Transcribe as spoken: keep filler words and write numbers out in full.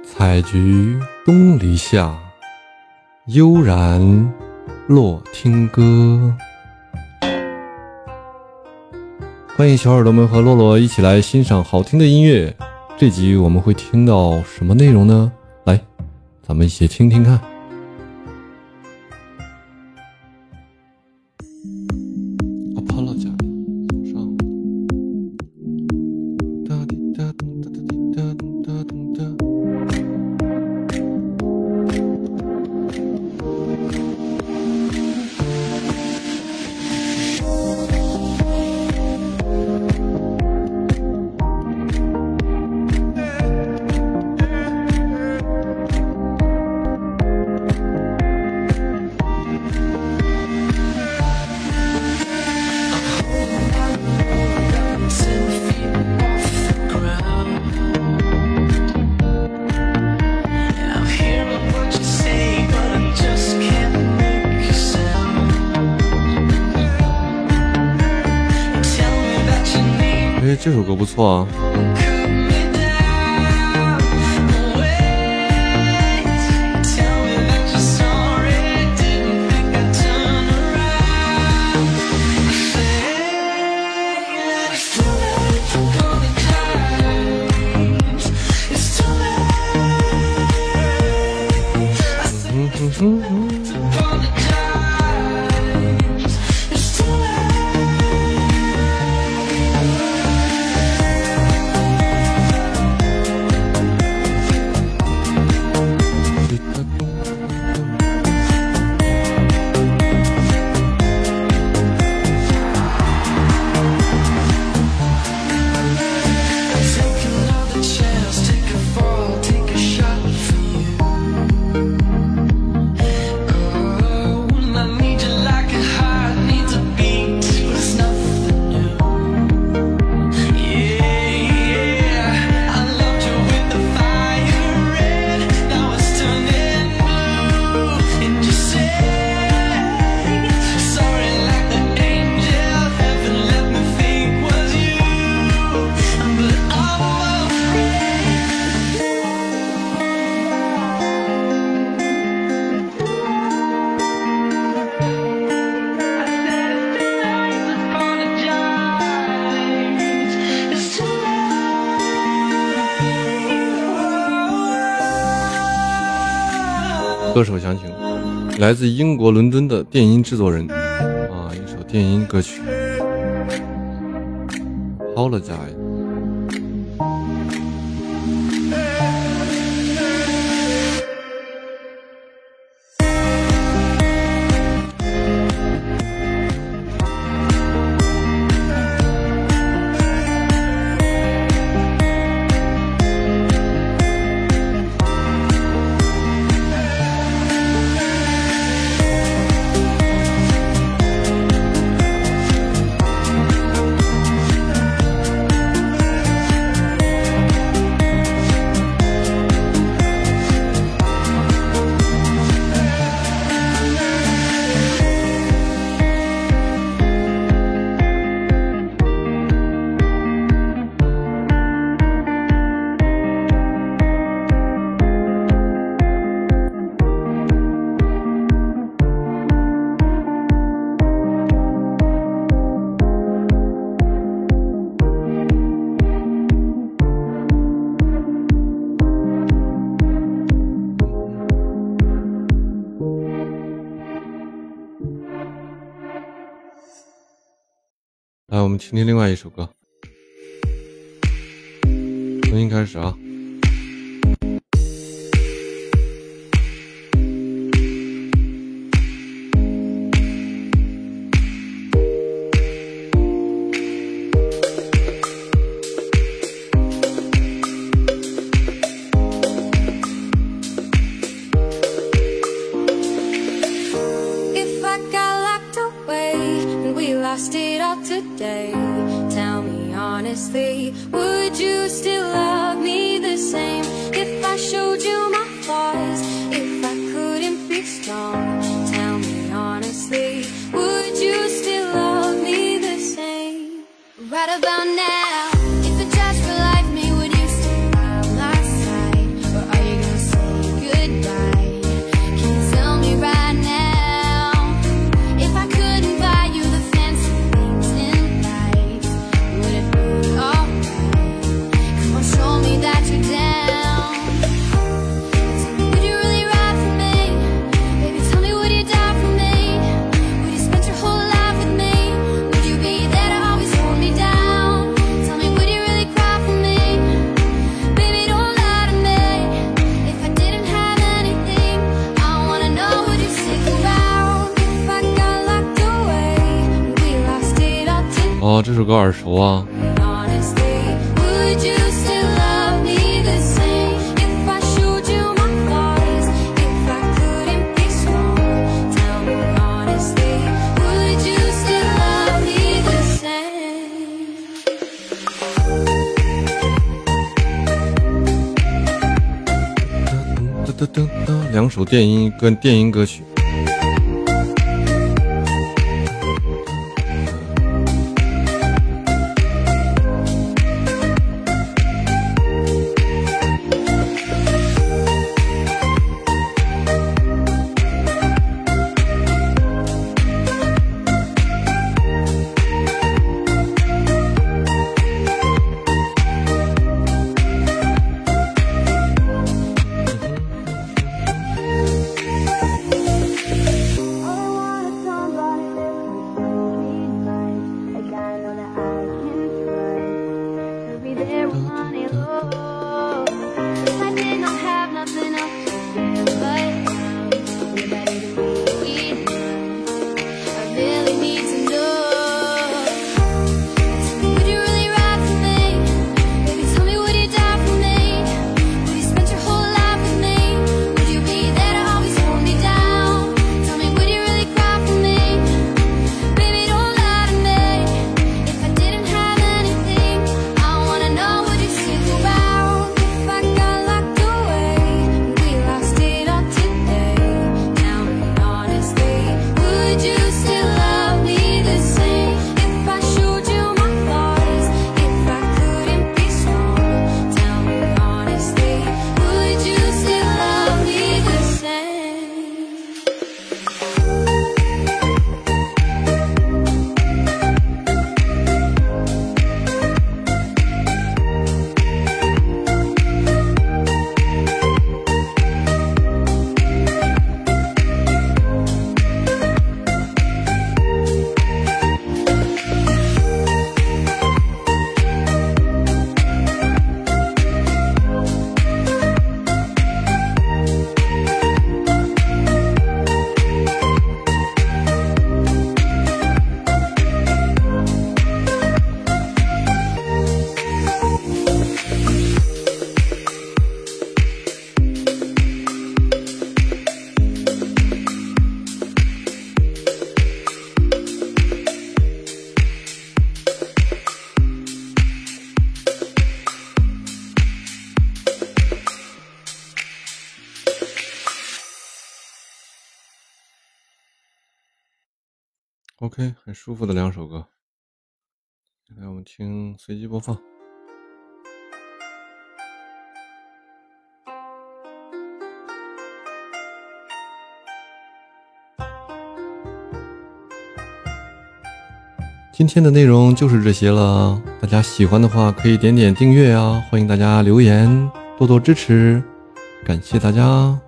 采菊东篱下，悠然落听歌。欢迎小耳朵们和洛洛一起来欣赏好听的音乐。这集我们会听到什么内容呢？来，咱们一起听听看。Apologize， 左上。哒滴哒咚哒哒滴哒咚哒咚哒。哎，这首歌不错啊。嗯哼哼哼。歌手详情，来自英国伦敦的电音制作人啊，一首电音歌曲。Apologize。来，我们听听另外一首歌，重新开始啊。 Lost it all today. Tell me honestly, would you still love me the same if I showed you my flaws, if I couldn't be strong? Tell me honestly, would you still love me the same? Right about now, if it just for life me, would you still by my side? Or are you 哦，这首歌耳熟啊。噔噔噔，两首电音跟电音歌曲。OK， 很舒服的两首歌。接下来我们听随机播放。今天的内容就是这些了，大家喜欢的话可以点点订阅啊，欢迎大家留言，多多支持，感谢大家。